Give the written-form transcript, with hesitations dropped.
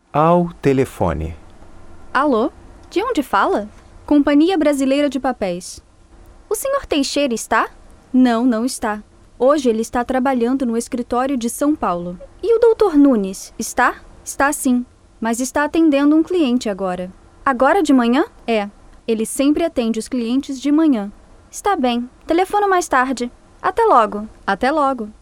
Ao telefone. Alô? De onde fala? Companhia Brasileira de Papéis. O senhor Teixeira está? Não, não está. Hoje ele está trabalhando no escritório de São Paulo. E o doutor Nunes, está? Está sim, mas está atendendo um cliente agora. Agora de manhã? É. Ele sempre atende os clientes de manhã. Está bem. Telefono mais tarde. Até logo. Até logo.